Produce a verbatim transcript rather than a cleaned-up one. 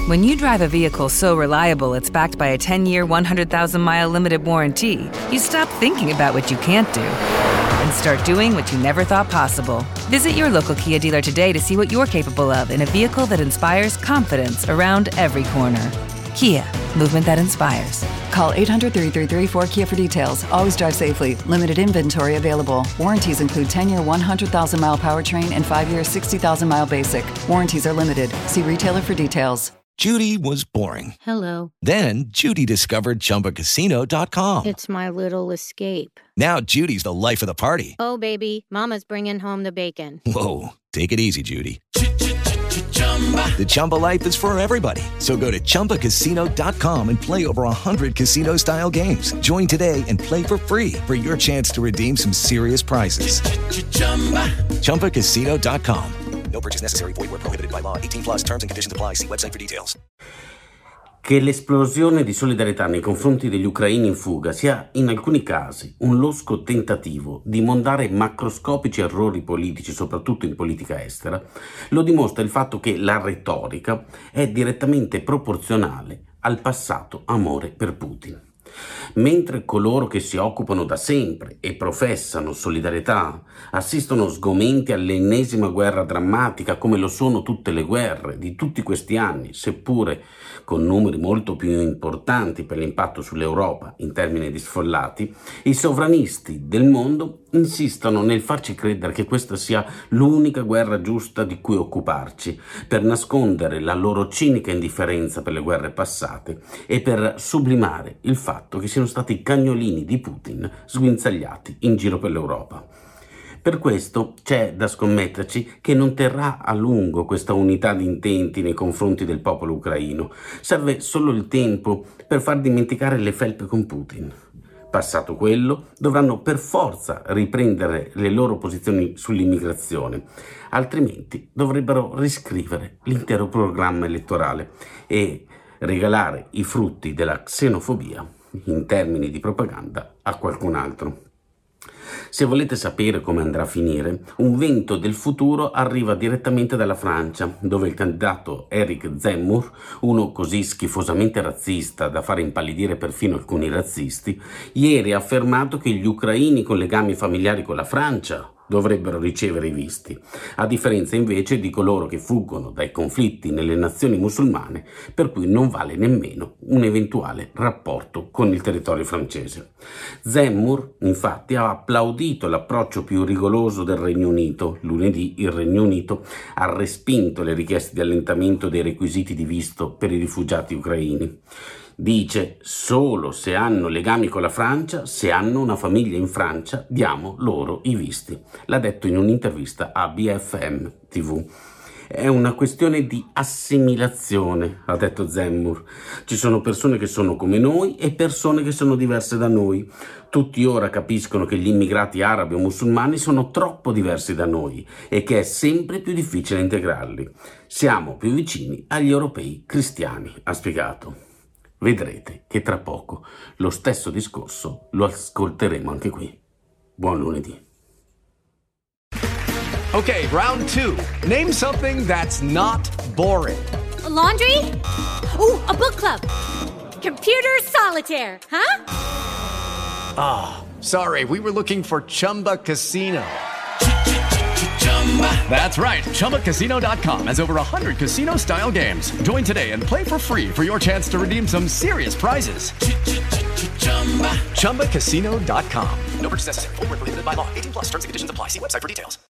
When you drive a vehicle so reliable it's backed by a ten-year, one hundred thousand mile limited warranty, you stop thinking about what you can't do and start doing what you never thought possible. Visit your local Kia dealer today to see what you're capable of in a vehicle that inspires confidence around every corner. Kia, movement that inspires. Call eight hundred, three three three, four Kia for details. Always drive safely. Limited inventory available. Warranties include ten-year, one hundred thousand mile powertrain and five-year, sixty thousand mile basic. Warranties are limited. See retailer for details. Judy was boring. Hello. Then Judy discovered Chumba Casino dot com. It's my little escape. Now Judy's the life of the party. Oh, baby, mama's bringing home the bacon. Whoa, take it easy, Judy. The Chumba life is for everybody. So go to Chumba Casino dot com and play over one hundred casino-style games. Join today and play for free for your chance to redeem some serious prizes. Chumba Casino dot com. No purchase necessary. Void where prohibited by law. eighteen plus terms and conditions apply. See website for details. Che l'esplosione di solidarietà nei confronti degli ucraini in fuga sia in alcuni casi un losco tentativo di mondare macroscopici errori politici, soprattutto in politica estera, lo dimostra il fatto che la retorica è direttamente proporzionale al passato amore per Putin. Mentre coloro che si occupano da sempre e professano solidarietà assistono sgomenti all'ennesima guerra drammatica, come lo sono tutte le guerre di tutti questi anni, seppure con numeri molto più importanti per l'impatto sull'Europa in termini di sfollati, i sovranisti del mondo insistono nel farci credere che questa sia l'unica guerra giusta di cui occuparci, per nascondere la loro cinica indifferenza per le guerre passate e per sublimare il fatto che siano stati cagnolini di Putin sguinzagliati in giro per l'Europa. Per questo c'è da scommetterci che non terrà a lungo questa unità di intenti nei confronti del popolo ucraino. Serve solo il tempo per far dimenticare le felpe con Putin. Passato quello, dovranno per forza riprendere le loro posizioni sull'immigrazione, altrimenti dovrebbero riscrivere l'intero programma elettorale e regalare i frutti della xenofobia in termini di propaganda a qualcun altro. Se volete sapere come andrà a finire, un vento del futuro arriva direttamente dalla Francia, dove il candidato Éric Zemmour, uno così schifosamente razzista da fare impallidire perfino alcuni razzisti, ieri ha affermato che gli ucraini con legami familiari con la Francia dovrebbero ricevere i visti, a differenza invece di coloro che fuggono dai conflitti nelle nazioni musulmane, per cui non vale nemmeno un eventuale rapporto con il territorio francese. Zemmour, infatti, ha applaudito l'approccio più rigoroso del Regno Unito. Lunedì il Regno Unito ha respinto le richieste di allentamento dei requisiti di visto per i rifugiati ucraini. Dice: solo se hanno legami con la Francia, se hanno una famiglia in Francia, diamo loro i visti. L'ha detto in un'intervista a B F M tivù. È una questione di assimilazione, ha detto Zemmour. Ci sono persone che sono come noi e persone che sono diverse da noi. Tutti ora capiscono che gli immigrati arabi o musulmani sono troppo diversi da noi e che è sempre più difficile integrarli. Siamo più vicini agli europei cristiani, ha spiegato. Vedrete che tra poco lo stesso discorso lo ascolteremo anche qui. Buon lunedì. Okay, round two. Name something that's not boring. A laundry? Ooh, a book club. Computer solitaire, huh? Ah, oh, sorry, we were looking for Chumba Casino. That's right. Chumba Casino dot com has over one hundred casino-style games. Join today and play for free for your chance to redeem some serious prizes. Chumba Casino dot com. No purchase necessary. Void where prohibited by law. eighteen plus terms and conditions apply. See website for details.